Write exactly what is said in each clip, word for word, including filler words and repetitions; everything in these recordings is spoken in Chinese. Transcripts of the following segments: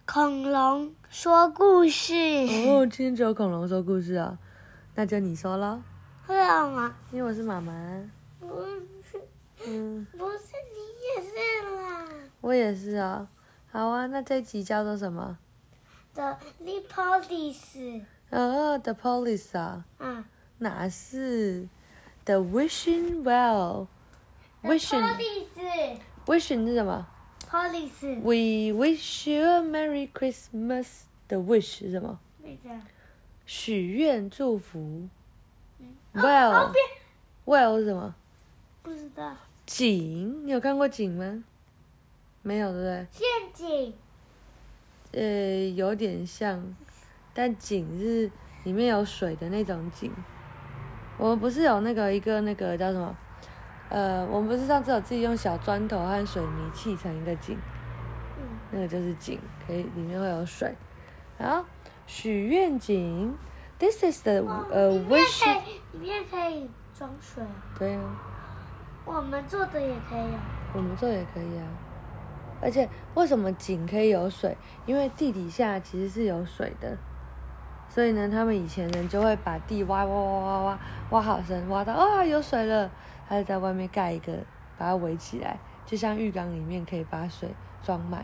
恐龙说故事。 哦，今天只有恐龙说故事啊，那就你说咯。 为什么？ 因为我是妈妈。 不是， 嗯， 不是你也是啦。 我也是啊。好啊，那这一集叫做什么 The Police。 哦 ，The Police 啊。 嗯。 哪是 The Wishing Well。Wishing。 Police。 Wishing 是什么 ？Police。 We wish you a Merry Christmas。The wish 是什么？许愿祝福。Well。 哦，别。 Well 是什么？ 不知道。 井，你有看过井吗？没有，对不对？ 陷阱。 呃，有点像，但井是里面有水的那种井。我们不是有那个一个那个叫什么？呃，我们不是上次有自己用小砖头和水泥砌成一个井， 嗯， 那个就是井，可以里面会有水。好，许愿井 ，This is the 呃 wish。 里面可以装水。 对啊。 我们做的也可以啊。 我们做也可以啊。而且为什么井可以有水？因为地底下其实是有水的，所以呢，他们以前人就会把地挖挖挖挖挖挖好深，挖到啊有水了，他就在外面盖一个，把它围起来，就像浴缸里面可以把水装满。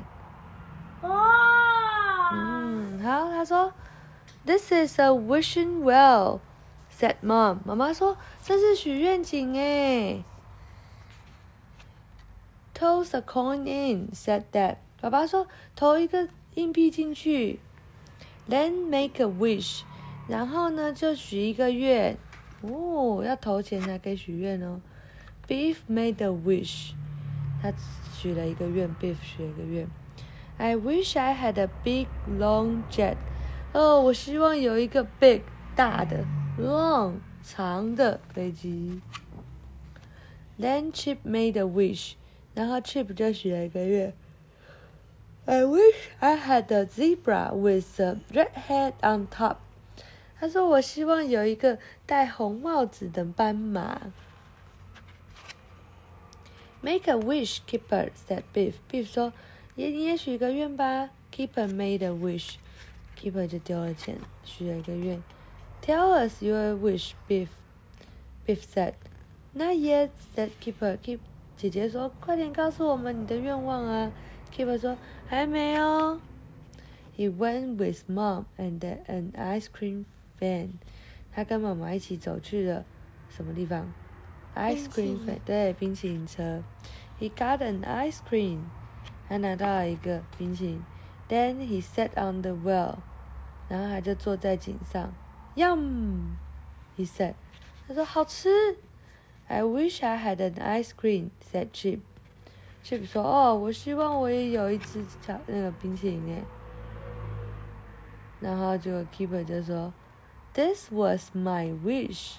哇！ 嗯，好，他说 ，This is a wishing well," said Mom. 妈妈说这是许愿井诶。Toss a coin in," said Dad. 爸爸说投一个硬币进去。Then make a wish. 然后呢就许一个愿。哦，要投钱才可以许愿哦。Beef made a wish. 他许了一个愿 ，Beef 许了一个愿。I wish I had a big long jet. 哦，我希望有一个 big 大的 long 长的飞机。Then Chip made a wish. 然后 Chip 就许了一个愿。I wish I had a zebra with a red head on top. 他说我希望有一个戴红帽子的斑马。Make a wish, Keeper, said Beef. Beef 说也你也许个愿吧。Keeper made a wish. Keeper 就丢了钱，许了一个愿。Tell us your wish, Beef. Beef said. Not yet, said Keeper. Keep 姐姐说快点告诉我们你的愿望啊。Keeper 说还没哦。He went with Mom and an ice cream van. 他跟妈妈一起走去了什么地方 ？Ice cream van， 对，冰淇淋车。He got an ice cream. 他拿到了一个冰淇淋。Then he sat on the well. 然后他就坐在井上。Yum, he said. 他说好吃。I wish I had an ice cream, said Chip. Chip 说哦，我希望我也有一只巧那个冰淇淋诶。然后结果 Keeper 就说 ，This was my wish,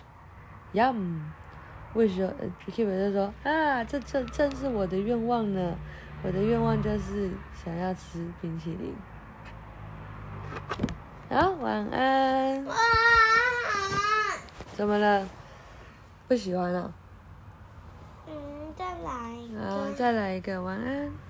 yum. Wish 说 Keeper 就说啊，这这正是我的愿望呢。我的愿望就是想要吃冰淇淋。好，晚安。 晚安。 怎么了？不喜欢啊？ 嗯，再来一个。 好，再来一个晚安。